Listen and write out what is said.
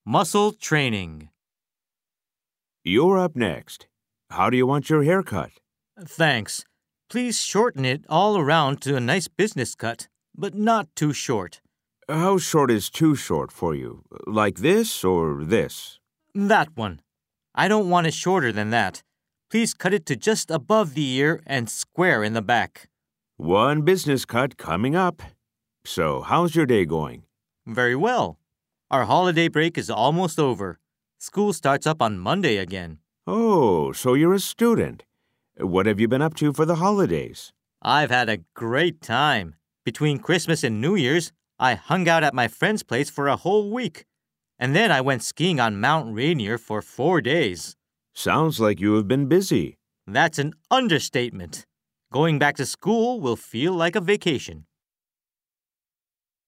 Muscle training. You're up next. How do you want your hair cut? Thanks. Please shorten it all around to a nice business cut, but not too short. How short is too short for you? Like this or this? That one. I don't want it shorter than that. Please cut it to just above the ear and square in the back. One business cut coming up. So, how's your day going? Very well. Our holiday break is almost over. School starts up on Monday again. Oh, so you're a student. What have you been up to for the holidays? I've had a great time. Between Christmas and New Year's, I hung out at my friend's place for a whole week. And then I went skiing on Mount Rainier for 4 days. Sounds like you have been busy. That's an understatement. Going back to school will feel like a vacation.